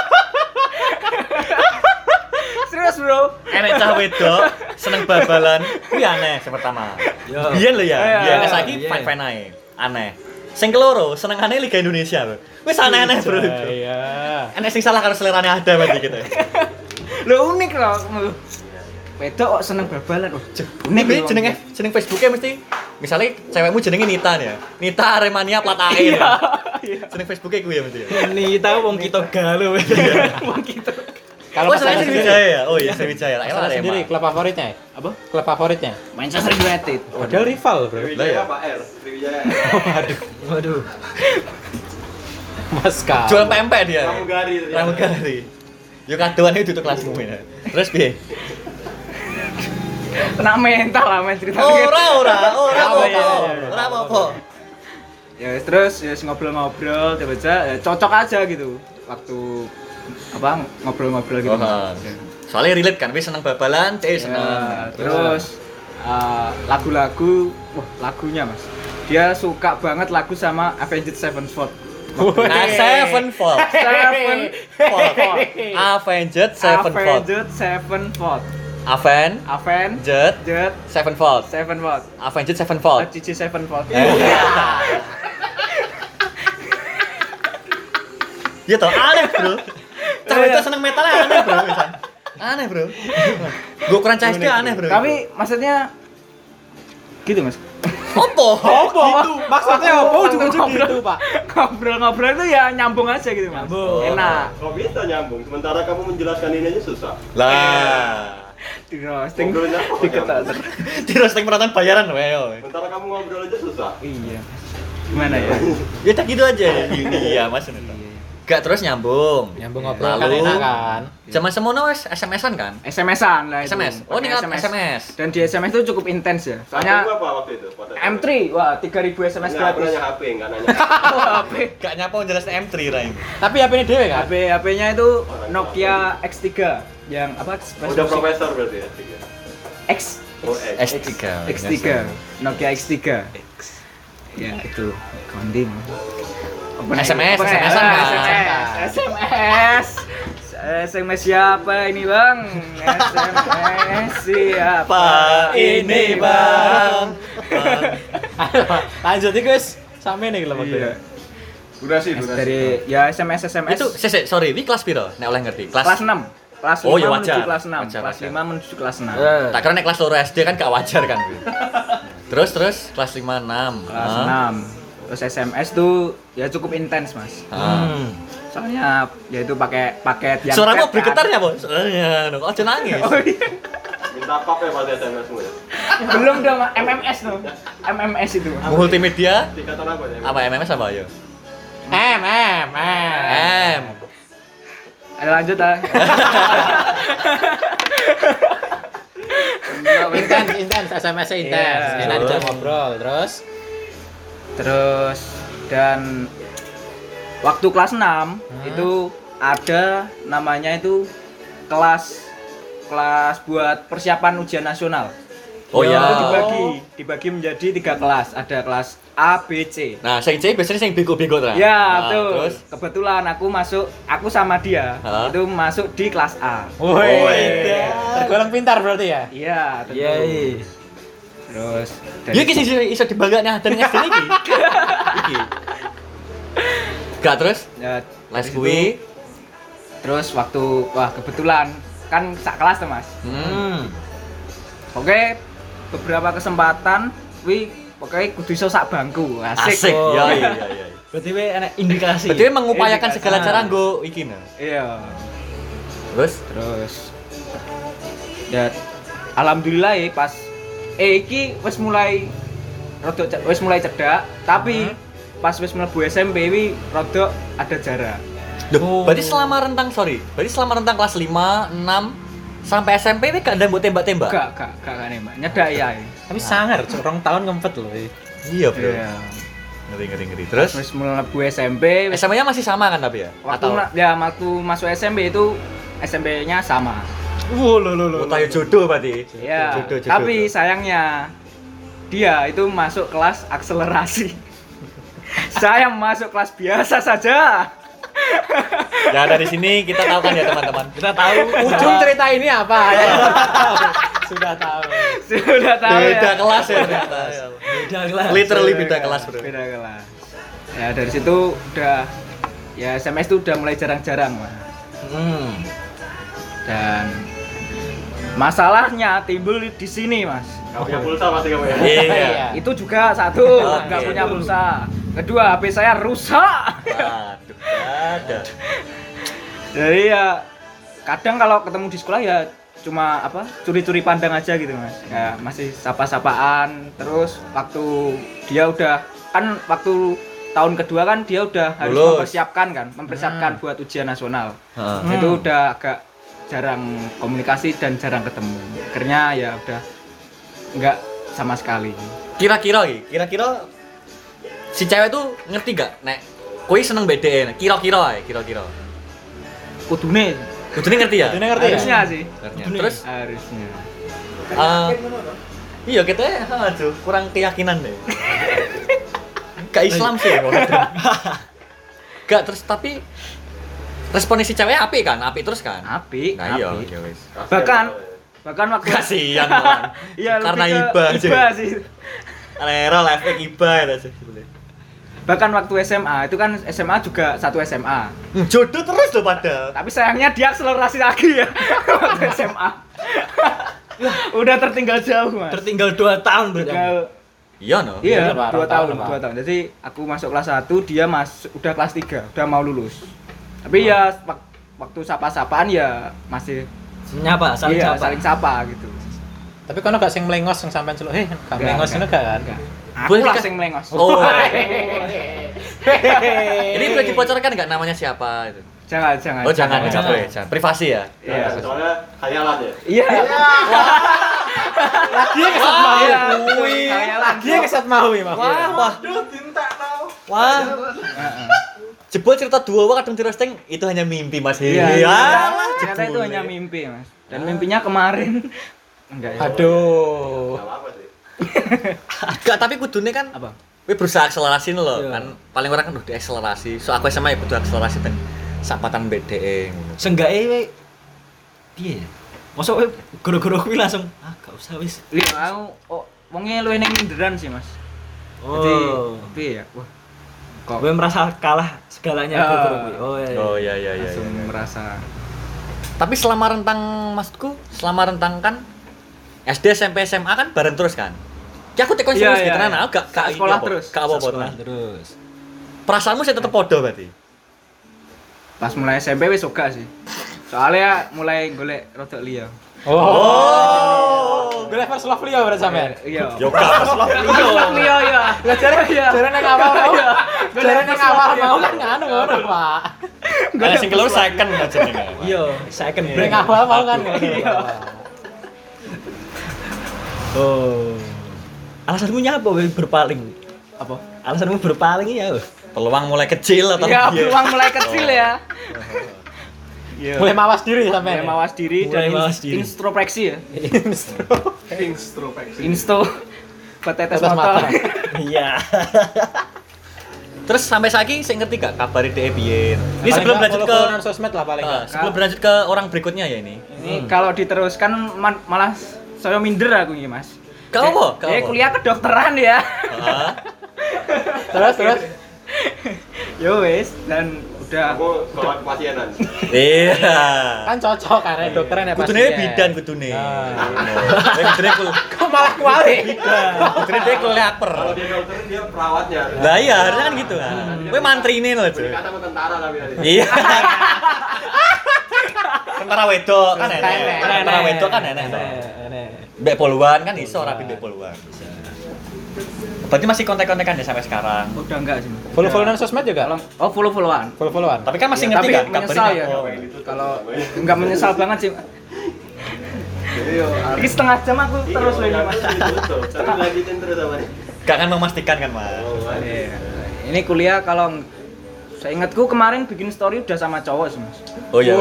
Serius bro. Enek cah wedok seneng bal-balan. Kuwi aneh sing pertama. Biyen lho ya. Iya, Biyen saiki iya. fine-fine ae. Aneh. Sing keloro senengane Liga Indonesia, Bro. Wis aneh-aneh, Bro. Iya. Enek sing salah karo selerane ada berarti gitu. Lo unik loh. Wedok kok seneng bal-balan. Oh, unik Ini loh. jeneng Facebooknya mesti misalnya cewekmu jenenge Nita nih ya. Nita Aremania plat air. Iya. Jeneng Facebooknya gue ya mesti. Ini tahu wong kita galau. Wong gitu. Kalau Oh, masalah selain Sriwijaya ya? Oh iya, Sriwijaya. Lah, Masalah Arema. sendiri klub favoritnya. Apa? Klub favoritnya. Manchester United. Padahal rival, Bro. Lah ya. Sriwijaya apa R? Sriwijaya. Waduh. Mas Kak. Jual pempek dia. Pramugari. Pramugari. Yo kadoan itu tutup kelasmu ya. Terus piye? Kena mental lah main cerita. Ora Apa ya? apa-apa. Ora apa-apa. Ya terus ya ngobrol-ngobrol tiba-tiba ya, cocok aja gitu. Waktu apa ngobrol-ngobrol gitu. Oh, soalnya relate kan, wis seneng bal-balan, Ya, seneng. terus lagu-lagu, wah lagunya mas, dia suka banget lagu sama Avenged Sevenfold. Nah, Sevenfold. Avenged Sevenfold. Avenged Sevenfold. Avenged Sevenfold. Sevenfold. Avenged Sevenfold. Cici Sevenfold. Iya toh, aneh bro. Cewek itu seneng metal aneh bro. Bisa. Aneh bro. Gue kurang CSD aneh bro. Tapi maksudnya gitu mas. Opo? Gitu. Maksudnya apa? Ujung-ujung Ngobrol. gitu, Pak. Ngobrol-ngobrol itu ya nyambung aja gitu mas. Enak. Kok bisa nyambung? Sementara kamu menjelaskan ini aja susah. Lah. Di roasting. Ngobrolnya apa Diketok. Di roasting penonton bayaran weo. Sementara kamu ngobrol aja susah. Iya. Gimana ya? Ya tak gitu aja. Iya mas. Gak terus nyambung. Nyambung ngobrol kan Lalu enak kan. zaman semono wis SMS-an kan? SMS-an lah itu. SMS. Oh, Pakai ini SMS. Dan di SMS itu cukup intens ya. Soalnya Soalnya apa waktu itu? Pada M3, wah 3000 SMS Enggak, aku gratis. nanya HP, enggak nanya. HP. Gak nyapa jelas M3 lah ini. Tapi HP ini dewe kan. HP-nya itu Nokia X3 yang apa? Udah profesor berarti ya? X Oh, X. S3. X3. Nokia X3. Ya itu konding. SMS, Apa, SMS-an, Pak. SMS siapa ini bang? SMS siapa ini, Bang? Lanjut iki wis sampe nih lho Iya. Durasi. Dari ya SMS Itu sorry, ini kelas piro? Nek oleh ngerti. kelas 6. Kelas 5 Oh, ya menuju wajar. kelas 6. Wajar, Kelas wajar. 5 menuju kelas 6. Tak kira nek kelas loro SD kan gak wajar kan. Terus kelas 5 6. Kelas 6. Terus SMS tuh ya cukup intens, Mas. Soalnya ya itu pakai paket yang Suaramu chat, bergetar kan. ya, Bos? Ya, kok nangis. Oh iya. Minta kop ya pada SMS-mu ya? Belum dong, MMS tuh. MMS itu. Multimedia Tingkatan apa ya? apa MMS apa ya? M. M. Ayo lanjut ah. Intens SMS-nya intens. Iya. Enak diajak ngobrol terus. Terus dan waktu kelas 6 itu ada namanya itu kelas buat persiapan ujian nasional. Oh Itu ya. dibagi menjadi 3 kelas. Ada kelas A, B, C. Nah, sing C biasanya sing bego-bego ta. Ya, Nah, betul. Terus Kebetulan aku sama dia Hah? itu masuk di kelas A. Woi. Tergolong pintar berarti ya. Iya, tentu. Terus dari ya iki sing iso dibanggakan dan SD iki. Iki. Gak terus ya, les dari kuwi. situ, terus waktu kebetulan kan sak kelas tuh, Mas. Oke, beberapa kesempatan pokoknya kudu iso sak bangku. Asik. Asik. Oh. Ya iya. Berarti we enak indikasi. Berarti mengupayakan Indikasi. segala cara nggo iki nah. Iya. Terus Ya alhamdulillah ya pas iki wis mulai cedak, tapi pas wis mlebu SMP wi rada ada jarak. Duh, berarti selama rentang kelas 5, 6 sampai SMP ini gak ada mbok tembak-tembak? Gak nembak, nyedak ya. Tapi sangar, 2 tahun ngempet loh. Iya, Bro. Iya. Ngeri. Terus Wis mlebu SMP, wis SMA-nya masih sama kan tapi ya? waktu masuk SMP itu SMP-nya sama. Oh, tayo jodoh berarti. Ya, Jodoh. tapi sayangnya dia itu masuk kelas akselerasi. Saya masuk kelas biasa saja. Ya dari sini kita tahu kan ya teman-teman. Kita tahu Ujung cerita ini apa? Sudah tahu. Sudah tahu beda ya. kelas ya ternyata. Beda kelas. Literally beda kelas, Bro. Beda kelas. Ya dari situ udah ya SMS itu udah mulai jarang-jarang, Mas. Dan masalahnya timbul di sini, Mas. Gak punya pulsa pasti kamu ya? Iya. Itu juga satu, nggak Oke. punya pulsa. Kedua, HP saya rusak. Waduh, ada. Jadi ya kadang kalau ketemu di sekolah ya cuma curi-curi pandang aja gitu, Mas. Ya masih sapa-sapaan. Terus waktu dia udah kan waktu tahun kedua kan dia udah harus Lulus. mempersiapkan buat ujian nasional. Heeh. Itu udah agak jarang komunikasi dan jarang ketemu. Akhirnya ya udah nggak sama sekali. Kira-kira si cewek tuh ngerti gak nek kowe seneng BDE? Kira-kira. Kudune Kudune ngerti ya? Ini ngerti ya? harusnya sih. Terus Harusnya. iya kita aduh kurang keyakinan deh. Gak Islam sih. Gak terus tapi responnya si cewek apik kan? Apik terus kan? Apik. Nah iya, apik. oke wis. Bahkan waktu Kasihan man. iya, Karena lebih ke iba aja. iba sih. Lero efek iba aja. Bahkan waktu SMA itu kan SMA juga satu SMA. Jodoh terus loh padahal. Tapi sayangnya dia akselerasi lagi ya waktu SMA. Udah tertinggal jauh, Mas. Tertinggal 2 tahun berarti. Tinggal Iya no. iya, Iya, 2 tahun, Pak. 2 tahun. Jadi aku masuk kelas 1, dia udah kelas 3, udah mau lulus. Tapi ya waktu sapa-sapaan ya masih Nyapa, saling iya, sapa. saling sapa gitu. Tapi kono gak sing melengos sing sampean celuk, gak Enggak, melengos ngono gak kan? Aku Boleh lah dikasih- sing melengos. Oh. Ini boleh dibocorkan nggak namanya siapa itu? Jangan. Oh jangan, boleh. Jangan. Privasi ya. Iya. Soalnya khayalan ya. Iya. Lagi kesat mau. Iya. Lagi kesat mau ya, Mas. Wah. Wah. Jebol cerita dua kadang di roasting itu hanya mimpi Mas. Iya. jebol. Ternyata itu hanya mimpi, Mas. Dan mimpinya kemarin. Enggak ya. Aduh. Enggak apa-apa sih. Enggak, tapi kudune kan Apa? kowe berusaha akselerasi lho Iya. kan. Paling ora kan udah diakselerasi. So aku SMA ya butuh akselerasi dan sapatan BDE ngono. Seenggaknya we piye ya? Mosok we goro-goro kuwi langsung gak usah wis. Iya, aku wonge luwih ning minderan sih, Mas. Jadi, piye ya? Wah, kok Gue merasa kalah segalanya Ah. goro-goro kuwi. Oh iya. Oh iya iya iya. langsung iya. merasa Tapi selama rentang maksudku, selama rentang kan SD, SMP, SMA kan bareng terus kan? Ya aku tekon serius gitu nah, gak sekolah terus. Gak apa-apa. Sekolah nah. terus. Perasaanmu sih tetep podo berarti. pas mulai SMP wis suka sih. Soalnya mulai golek rodok liya. Oh. Gue first love Leo berarti sampean. Iya. Yo gak Love liya ya. Lah jare nang awal mau. Jare nang awal mau kan ngono ngono, Pak. Ada sing keluar second aja nih. Iya, second Nang break. awal mau kan ngono. Iya. Oh. Alasanmu nyapa we berpaling? Apa? Alasanmu berpaling ya. Peluang mulai kecil atau Ya, piye? peluang mulai kecil ya. Iya. Mulai mawas diri sampean. Mulai mawas diri Mulai dan mawas diri. introspeksi ya. Introspeksi. Insto petetes Tetes mata. mata. Iya. Terus sampai saiki sing ngerti gak kabar DE piye? Ini Paling sebelum nggak berlanjut ke follow-followan sosmed lah paling enggak. sebelum berlanjut ke orang berikutnya ya ini. Ini kalau diteruskan malah saya minder aku ini, Mas. Gak apa? Gak apa? Kuliah kedokteran ya. Ah, Terus Yo wes dan udah Aku sekolah kepasienan. Iya. kan cocok karena dokteran ya pasti. Kudune bidan kudune. Nah. Kudune kul. Kok malah kuali? Kudune dia kuliaper. Kalau dia dokter dia perawatnya. Lah iya, harusnya kan gitu kan. Kowe mantrine lho, Cuk. Kata sama tentara tapi tadi. Iya. Tentara wedok kan enak. Enak. Tentara wedok kan enak. Enak. Mbek poluan kan iso rapi mbek poluan. Berarti masih kontak-kontakan ya sampai sekarang. udah enggak sih. Mas. Follow-followan sosmed juga? Oh, follow-followan. Follow-followan. Tapi kan masih Ya, ngerti tapi kan menyesal ya. Oh. Kalau enggak menyesal banget sih. Jadi yo Ini setengah jam aku terus loh ini, Mas. Tapi lanjutin terus sama nih. Gak akan memastikan kan, Mas. Iya. Ini kuliah kalau saya ingatku kemarin bikin story udah sama cowok sih, Mas. Oh iya.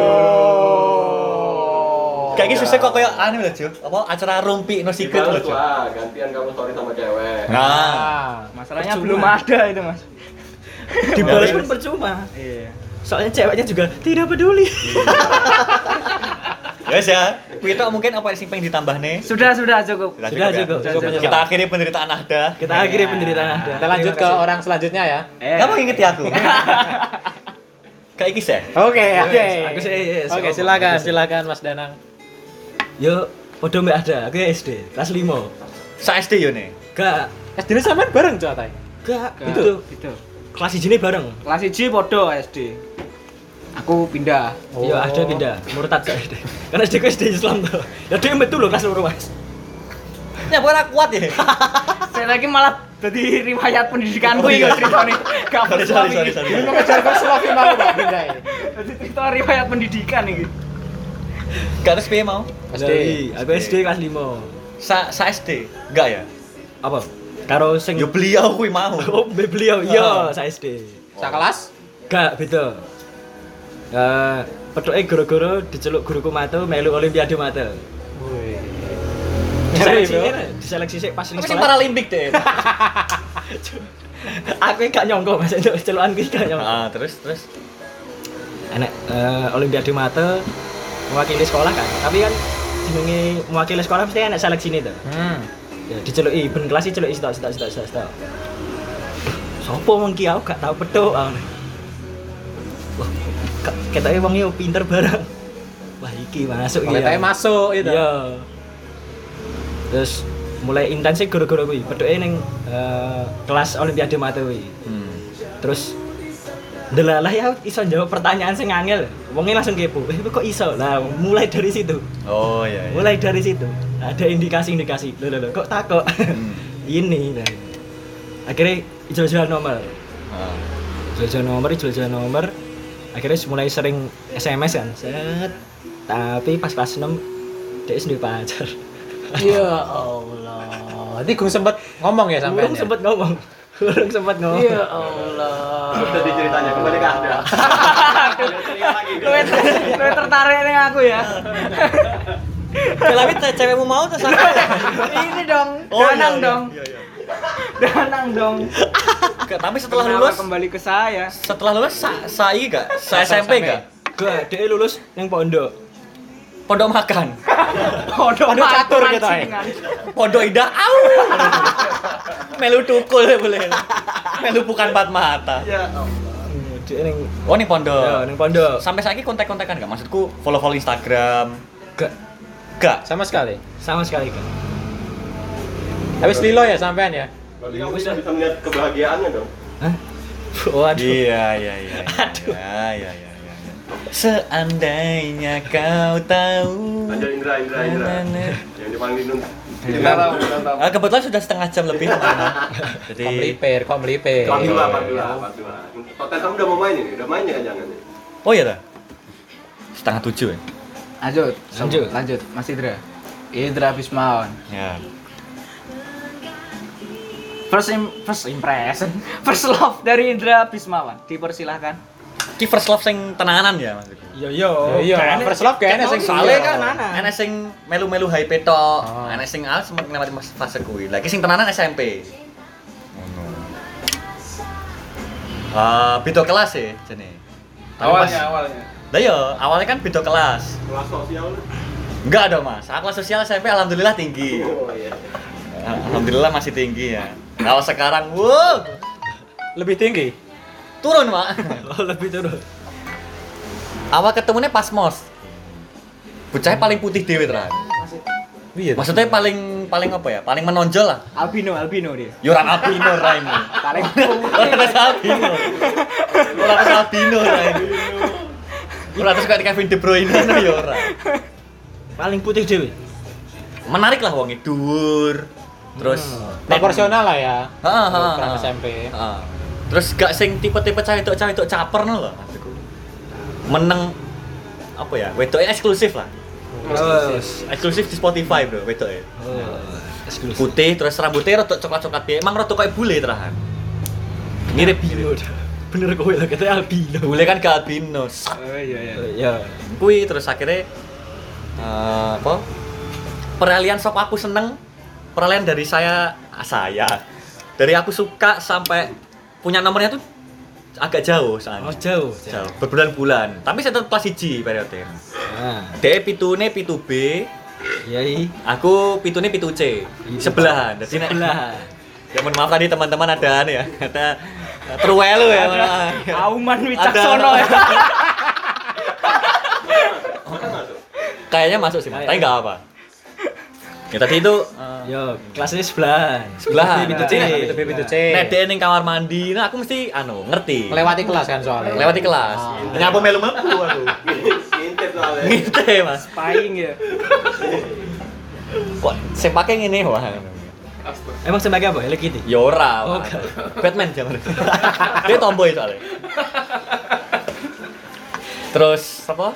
Kayak gitu susah kok kayak aneh loh, Cuk. Apa acara rumpi no secret loh, Dibales Cuk. lah, gantian kamu story sama cewek. Nah, Masalahnya Percuma. belum ada itu, Mas. Dibalas pun percuma. Iya. Soalnya ceweknya juga tidak peduli. ya ya. Kita mungkin apa yang pengen ditambah nih? Sudah cukup. Sudah cukup. Kita akhiri penderitaan Ahda. Kita akhiri penderitaan Anda. Kita lanjut ke orang selanjutnya ya. Kamu inget ya aku? Kayak Ikis ya? Oke. Aku sih. Oke, silakan Mas Danang. Yo, podo mbak ada. Aku ya SD, kelas 5. Sa SD yo nih. Gak, SD ini sampean bareng Cok Tay. gak. Itu. Kelas ini bareng. Kelas 1 podo SD. Aku pindah. Iya, ada pindah. Murtad ke SD. Karena SD ku SD Islam tuh. Ya dia betul loh kelas 2, Mas. Ya bukan kuat ya. Saya lagi malah jadi riwayat pendidikanku iki ceritane. Gak Sorry. Ini mengejar first love mau Pak pindah ini. Jadi cerita riwayat pendidikan iki. Gak terus piye mau? Dari aku SD kelas 5. Sa SD? Enggak ya? Apa? Karo sing Yo beliau kuwi mau. Oh, beliau. Iya, saya SD. Sak kelas? Gak, beda. Petuke goro-goro diceluk guruku matu melu olimpiade matu. Wih. Diseleksi sik pas ning Tapi sing sekolah. paralimpik deh. Aku gak nyongko Mas itu celukan iki gak nyongko. Ah, terus. Enek olimpiade matu mewakili sekolah kan. Tapi kan jenenge mewakili sekolah mesti enek seleksine to. Ya diceluki ben kelas iki celuki sitok. Sopo wong ki aku gak tau petuk. Wah, ketoke wong yo pinter bareng. Wah, iki masuk iki. Kita masuk gitu. Iya. Terus mulai intens sih guru-guru kuwi. Petuke ning kelas olimpiade mata kuwi. Terus ndelalah ya iso jawab pertanyaan sing angel. Wonge langsung kepo. Kok iso? Lah mulai dari situ. Oh iya. Mulai dari situ. Ada indikasi-indikasi. Loh, kok takut? Ini. Nah. Akhirnya ijazah nomor. jual nomor akhirnya mulai sering SMS kan set. Tapi pas kelas 6 dia sendiri pacar. Ya Allah. Nanti gue sempet ngomong ya sampai. Urung sempet ngomong. Ya Allah. Sudah diceritanya kembali ke Anda. Lu tertarik dengan aku ya. Tapi cewekmu mau tuh sama. Ini dong. Oh, Danang iya, dong. iya, iya. Danang dong. Tapi setelah Kenapa lulus kembali ke saya. sai gak? Sa SMP gak? Gak, dia lulus yang pondok. Pondok makan. Pondok catur gitu, Pondok indah. Au. Melu tukul boleh. Melu bukan empat mata. Ya. Dia ning Oh, nih pondok. ya ning pondok. Sampai saiki kontak-kontakan gak? Maksudku follow-follow Instagram. Gak Gak. Sama sekali. sama sekali kan. Habis lilo ya sampean ya. Berarti kamu bisa melihat kebahagiaannya dong. Hah? Waduh. Iya. Iya. Seandainya kau tahu. Lanjut Indra. Yang dipanggil Nun. Kita tahu. Kebetulan sudah setengah jam lebih. Jadi Kok melipir. Part 2. Hotel kamu udah mau main ini? Udah main ya jangan nih. oh iya dah. 6:30 ya. Lanjut. Mas Indra Bismawan. Ya. First impression, first love dari Indra Bismawan. Dipersilahkan. Ki first love sing tenanan ya maksudku. Iya, first love kayaknya sing Soalnya iya. kan ana sing melu-melu hype tok, Oh. ana sing sempat ngelewati fase kuwi. Lagi sing tenanan SMP. Ngono. Beda kelas ya jane. Awalnya. Lah yo, awalnya kan beda kelas. Kelas sosial. Enggak ada Mas. Kelas sosial SMP alhamdulillah tinggi. Oh iya. Alhamdulillah masih tinggi ya. Kalau sekarang, wow, Lebih tinggi. turun Pak. Oh, lebih turun. Awal ketemunya pas mos. Bocahnya paling putih dewe teran. Iya. Maksudnya paling apa ya? Paling menonjol lah. Albino dia. Ya ora albino ra ini. Paling Ora terus albino. Ora terus albino ra ini. Ora terus kayak Kevin De Bruyne ya ora. Paling putih dewe. Menarik lah wonge dhuwur. Terus Proporsional lah ya. Heeh, Ukuran heeh. SMP. Heeh. Terus gak sing tipe-tipe cawek-cawek caper no lho maksudku. Meneng apa ya? Wedoknya eksklusif lah. Eksklusif di Spotify, Bro, wedoknya. Eksklusif. Putih terus rambutnya rada coklat-coklat piye. Emang rada kayak bule terahan. Mirip albino. Bener kowe lah katanya albino. bule kan ke albino. Sat. Oh iya. Ya. Kuwi terus akhirnya apa? Peralihan sok aku seneng. Peralihan dari saya. Dari aku suka sampai punya nomornya tuh agak jauh soalnya. Oh, jauh. Jauh, berbulan-bulan. Tapi saya tetap kelas 1 periode. Nah, Dia pitune pitu B, yai. aku pitune pitu C. Sebelahan. Jadi nek Sebelah. ya mohon maaf tadi teman-teman ada anu ya. Kata terwelu ya. Auman Wicaksono ya. Kayaknya masuk sih, Mas. Tapi enggak apa. Ya tadi itu Yo, kelasnya sebelahan. sebelahan. Pintu C. Pintu C. Nek dia ning kamar mandi, nah aku mesti ngerti. Melewati kelas kan soalnya. Lewati kelas. Nyapu melu-melu aku. Ngintip soalnya. Ngite, Mas. Spying ya. Kok sing pake ngene wah. Emang sebagai apa? Hello Kitty. Ya ora. Oh, Pak. Batman zaman itu. Dia tomboy soalnya. Terus apa?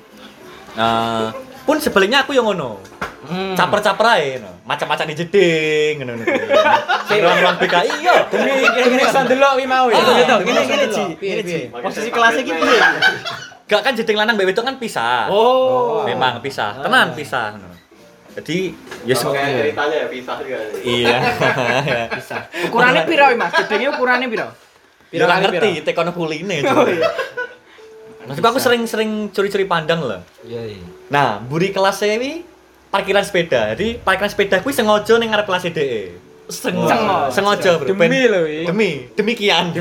Pun sebaliknya aku yang ngono. Caper-caper ae ngono. Macam-macam di jeding ngono. Ruang BKI yo. Demi iso ndelok wi mau ya. Gini Ci. Piye, piye? Posisi kelasnya gitu ya. Gak kan jeding lanang mbek wedok kan pisah. Oh. Memang pisah. Tenan pisah ngono. Jadi ya Kalau kayak ceritanya ya pisah juga nih. iya. Ukurannya piro, Mas? Gedenge ukurannya piro? Ya ora ngerti tekono kuline. Maksudku aku sering curi-curi pandang loh. Iya, iya. Nah, buri kelas ini parkiran sepeda. Jadi parkiran sepeda kuwi sengaja ning ngarep kelas DE. Sengaja, Bro. Demi lho iki. Demikian.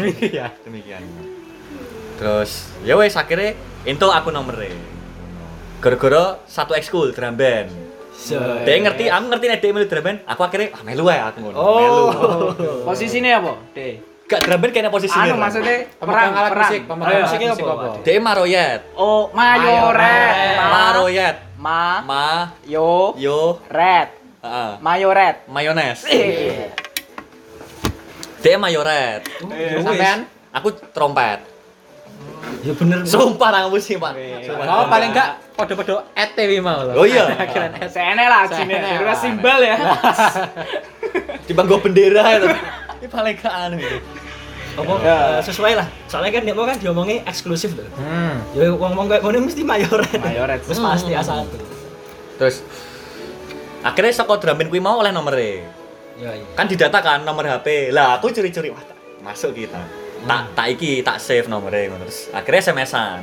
Terus ya wes akhirnya entuk aku nomere. Gara-gara satu ekskul drum band. Dia ngerti, aku ngerti nek dia melu drum band, aku akhirnya melu ae aku ngono. Melu. Posisinya apa? D. Gak drum band kayaknya posisinya. Anu maksudnya Pemegang alat musik, pemegang Ayo, musik musiknya apa? apa? Dia maroyet. Oh, mayoret. Maroyet. Ma Yo red. heeh. Mayoret. Mayones. Dia mayoret. Sampean? Aku trompet. Ya bener. Sumpah nang musik, Pak. Oh, paling enggak podo-podo ETW mau loh. Oh iya. Keren ETW. Sene lah sini. Kira simbal ya. Timbang go bendera itu. Ini paling gak anu itu. Apa sesuai lah. Soalnya kan dia mau kan diomongin eksklusif loh. Ya wong-wong kayak ngono mesti mayoret. Mayoret. Wis pasti A1. Terus akhirnya saka drum band kuwi mau oleh nomere. Ya iya. Kan didata kan nomor HP. Lah aku curi-curi wah masuk kita. Tak save nomornya ngono. Terus akhirnya SMS-an.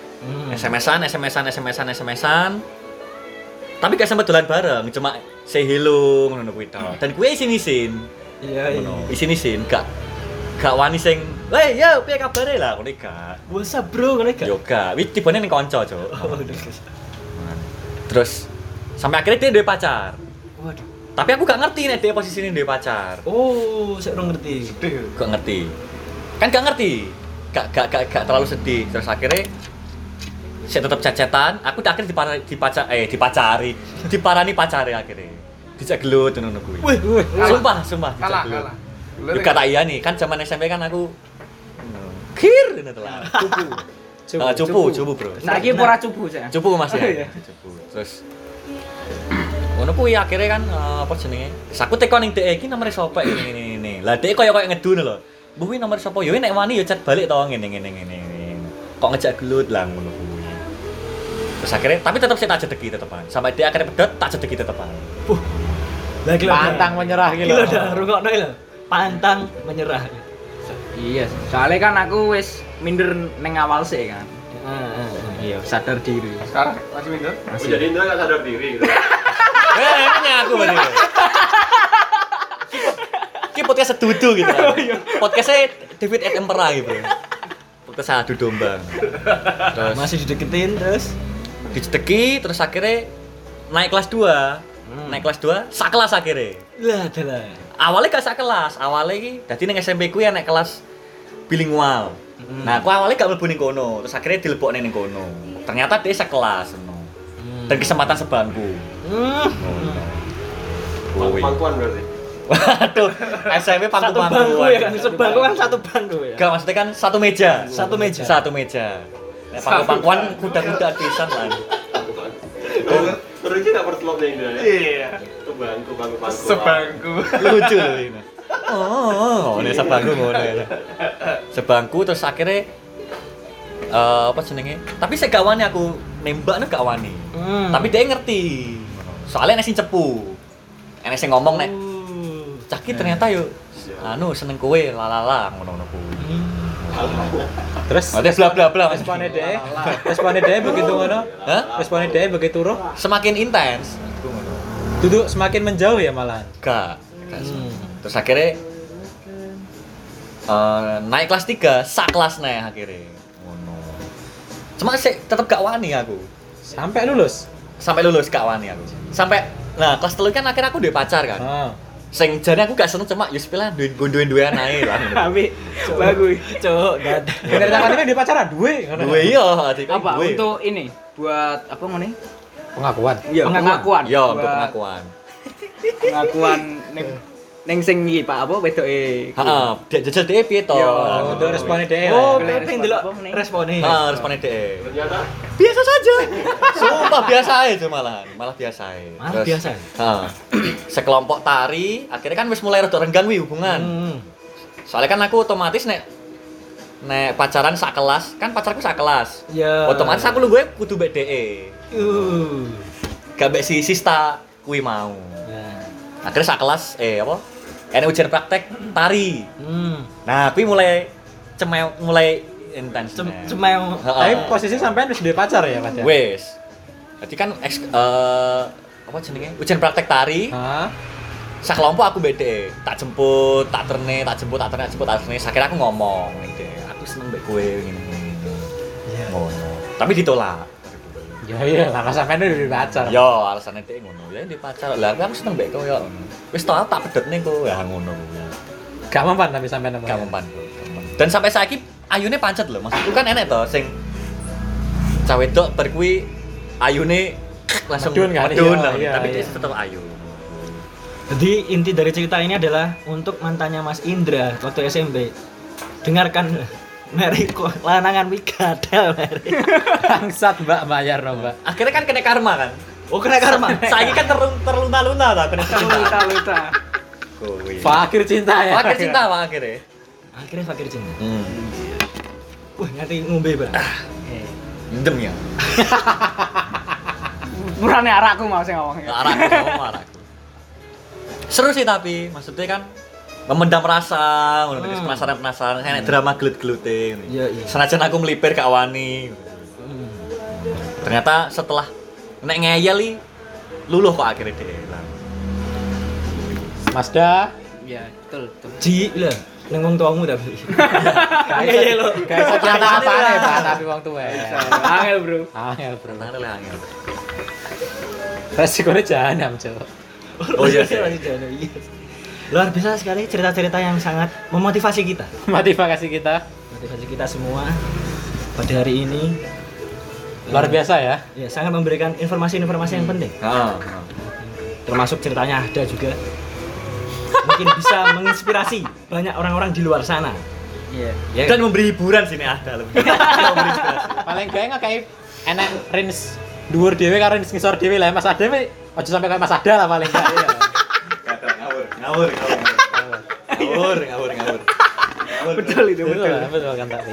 SMS-an. Tapi gak sempet dolan bareng, cuma say hello ngono kuwi tok. Dan kuwi isin-isin. Iya iya. Isin-isin gak wani sing, "Hei, yo, piye kabare?" lah ngono gak. Wasa bro ngono gak? Yo gak, wis tibane ning kanca, Cuk. Oh, Terus sampai akhirnya dia duwe pacar. waduh. Tapi aku gak ngerti nek dia posisine duwe pacar. Oh, saya ora ngerti. Gak ngerti. Kan gak ngerti. Gak terlalu sedih. Terus akhirnya saya tetap chat-chatan, aku akhirnya diparani pacare akhirnya. Dijak gelut ngono kuwi. Wih, Sumpah, dijak Kalah. gelut. Yo kata iya nih, kan zaman SMP kan aku kir ngono telah. Cupu, Bro. Saiki ora cubu saya. Cupu Mas Oh, ya. iya. Cupu. Terus ngono kuwi akhirnya kan apa jenenge? Aku teko ning dhek iki nomere sapa ini. Lah dhek koyo ngedun lho. Mbah kuwi nomor sapa? Yo nek wani yo chat balik to ngene. Kok ngejak gelut lah ngono kuwi. Terus akhirnya tapi tetap saya tak jedeki tetepan. Sampai dia akhirnya pedot tak jedeki tetepan. Lah gila. Pantang menyerah gitu. Gila dah, rungokno lho. Pantang menyerah. Iya, soalnya kan aku wis minder neng awal sih kan. Iya, sadar diri. Sekarang masih minder? Masih. Jadi Indra nggak sadar diri gitu. Ini aku berarti. Ki podcast sedudu gitu. Podcastnya David Attenborough gitu. Podcast adu domba. Terus Masih dideketin terus. dijedeki terus akhirnya naik kelas 2. Naik kelas 2, sak kelas akhirnya. Lah adalah. Awalnya gak sak kelas, awalnya iki dadi ning SMP ku ya naik kelas bilingual. Nah, aku awalnya gak mlebu ning kono, terus akhirnya dilebokne ning kono. Ternyata dia sekelas ngono. Dan kesempatan sebangku. Pangkuan berarti. Waduh, SMP Satu pangku-pangkuan. bangku ya kan, sebangku kan satu bangku ya. Gak maksudnya kan satu meja. Satu meja. Satu meja. Nah, pangku-pangkuan kuda-kuda pisan lah. Terus nggak bertelur nih Indra ya? Iya. Itu bangku. Sebangku. Lucu loh ini. Oh, ini sebangku ngono ya. Sebangku terus akhirnya apa jenenge? Tapi saya gak wani aku nembak nek gak wani. Tapi dia ngerti. Soalnya nek sing cepu. Enek sing ngomong nek cah ki ternyata yo anu seneng kowe lalala ngono-ngono kuwi. Terus Ada bla bla bla. responnya dia begitu ngono. Hah? Responnya dia begitu roh. Semakin intens. Duduk semakin menjauh ya malahan. Gak. Terus akhirnya naik kelas 3, sak kelas naik akhirnya. Ngono. Cuma sih tetep gak wani aku. Sampai lulus. Sampai lulus gak wani aku. Sampai nah kelas 3 kan akhirnya aku duwe pacar kan. Sing jane aku gak seneng cuma yo sepela duwe anae lah. Tapi bagus. Cuk, dad. Bener tangannya dia pacaran duwe. Duwe iya, adik Apa duwe. untuk ini? Buat apa ngene? Pengakuan. Iya, pengakuan. Iya, untuk Buat pengakuan. Pengakuan ning sing iki Pak apa wedoke. Heeh, dia jajal dhek piye to? Oh, untuk responnya dia. Oh, Boleh pengen respon delok apa nih? responnya. Heeh, responnya dhek. Ternyata Biasa saja. Sumpah biasa aja malah biasa aja. Malah biasa? Heeh. Sekelompok tari, akhirnya kan wis mulai rada renggang wi hubungan. Soalnya kan aku otomatis nek pacaran sak kelas, kan pacarku sak kelas. Ya. Otomatis aku lu gue kudu mbek dhek. Gak mbek si Sista kuwi mau. Ya. Akhirnya sak kelas apa? Enek ujian praktek tari. Nah, kuwi mulai intens. Cemeng. Tapi posisi sampean wis duwe pacar ya, Mas ya? Wes. Berarti kan apa jenenge? Ujian praktek tari. Hah? Sak kelompok aku beda, tak jemput, tak terne. Akhirnya aku ngomong ning dhek, aku seneng mbek kowe ngene. Ngono. Tapi ditolak. Ya iya, lah sampean udah duwe pacar. Yo, alasannya dhek ngono. Ya di pacar. Lah aku seneng mbek kowe yo. Wis tau tak pedhot ning kowe ya ngono kuwi. Gak mempan tapi sampean Gak mempan. Dan sampai saiki ayune pancet lho, maksudku kan enek to sing cah wedok bar kuwi ayune langsung Medun kan? medun, Iya, tapi iya. dia tetap ayu. Jadi inti dari cerita ini adalah untuk mantannya Mas Indra waktu SMP. dengarkan meri kok lanangan wi gadal meri. Bangsat Mbak bayar no Mbak. Akhirnya kan kena karma kan. Oh kena karma. Saiki kan terlunta-lunta ta kena cinta. Luta-luta. Kuwi. Fakir cinta ya. Fakir cinta Pak akhirnya. Akhirnya fakir cinta. Wah, ngerti ngombe, Bang. Ndem ya. Murane arakku mau sing ngomong. Arakku. Seru sih tapi maksudnya kan memendam rasa, penasaran, kayak drama gelut-gelute. Iya, iya. Senajan aku melipir ke awani. Ternyata setelah nek ngeyel li luluh kok akhirnya deh. Masda, Iya, betul. Ji lah, ning wong tuamu tapi. Iya lho. Guys, apa nih Pak tapi wong tuwa. Angel, Bro. Angel bro. Tangan le angel. Resikonya jahanam, Cok. Oh iya sih. Iya. Luar biasa sekali cerita-cerita yang sangat memotivasi kita. Motivasi kita Motivasi kita semua pada hari ini. luar biasa ya. Ya, sangat memberikan informasi-informasi yang penting. Heeh. Termasuk ceritanya ada juga. Mungkin bisa menginspirasi banyak orang-orang di luar sana. Iya. Ya, Dan memberi hiburan sini ada lebih. Memberi inspirasi. Paling gawe ngakae enek range dhuwur dhewe karo range ngisor dhewe lah. Mas Ade aja sampai kayak Mas Ada lah paling gak. Iya. Ngawur. Betul itu, betul. Betul kan tapi.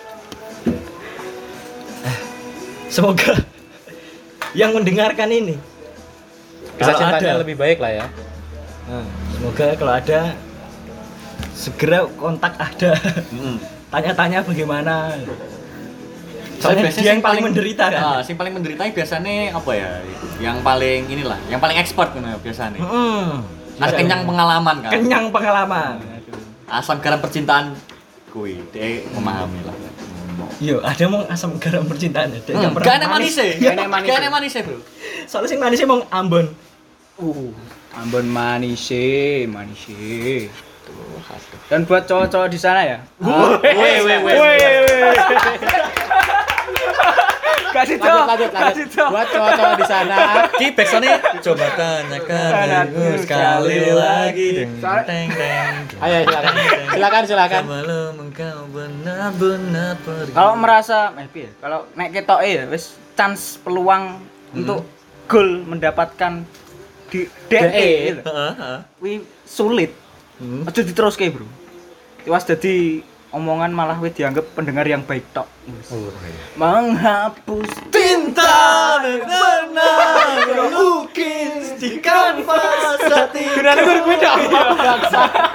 semoga yang mendengarkan ini Kisah kalau cintanya ada lebih baik lah ya. Nah, semoga kalau ada segera kontak ada. Tanya-tanya bagaimana. Soalnya dia yang paling menderita kan. Yang paling menderita biasanya apa ya? Yang paling inilah, yang paling expert kan biasanya. Ada kenyang pengalaman kan. Kenyang pengalaman. Asam garam percintaan kui, dia memahami lah. Yo, ada mau asam garam percintaan ada. Yang Gak ada manis Gak ada manis. Gak ada manis bro. Soalnya sing manisnya mau Ambon. Ambon manis. Dan buat cowok-cowok di sana ya. Kasih Lanjut. Buat cowok-cowok di sana. Ki backsoundnya coba tanyakan dirimu sekali lagi. Teng. Ayo silakan. Sebelum engkau benar-benar pergi. Kalau merasa kalau nek ketoke ya wis chance peluang untuk gol mendapatkan di DE kuwi sulit. Aja diteruske, Bro. Tiwas dadi omongan malah wis dianggap pendengar yang baik tok. Menghapus Tinta benar melukis di kanvas hati. Kenapa gue dak?